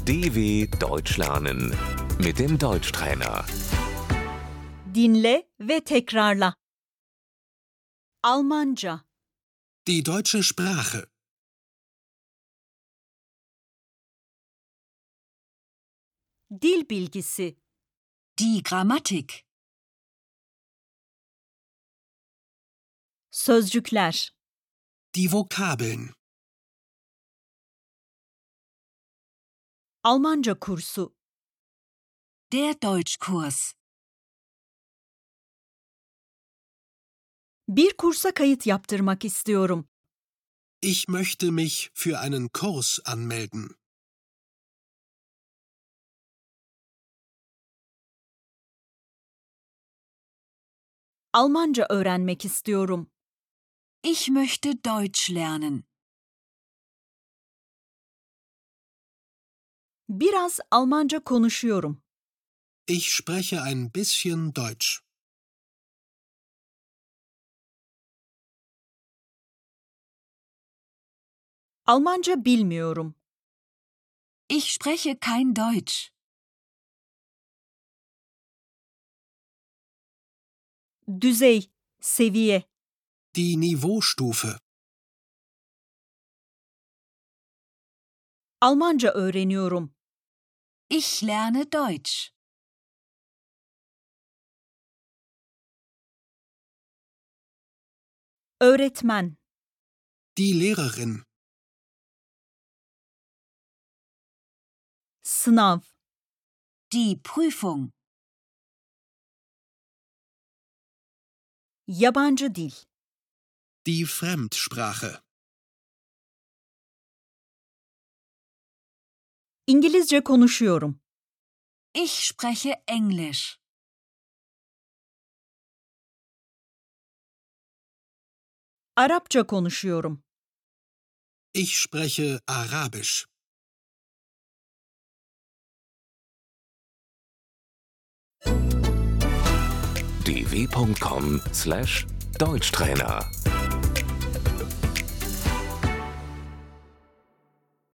DW Deutsch lernen mit dem Deutschtrainer. Dinle ve tekrarla. Almanca, Die deutsche Sprache. dil bilgisi, Die Grammatik. sözcükler, Die Vokabeln. Almanca kursu, Der Deutschkurs. bir kursa kayıt yaptırmak istiyorum. Ich möchte mich für einen Kurs anmelden. Almanca öğrenmek istiyorum. Ich möchte Deutsch lernen. Biraz Almanca konuşuyorum. Ich spreche ein bisschen Deutsch. Almanca bilmiyorum. Ich spreche kein Deutsch. Düzey, seviye, Die Niveaustufe. Almanca öğreniyorum. Ich lerne Deutsch. Öğretmen, Die Lehrerin. sınav, Die Prüfung. yabancı dil, Die Fremdsprache. İngilizce konuşuyorum. Ich spreche Englisch. Arapça konuşuyorum. Ich spreche Arabisch. dw.com/Deutschtrainer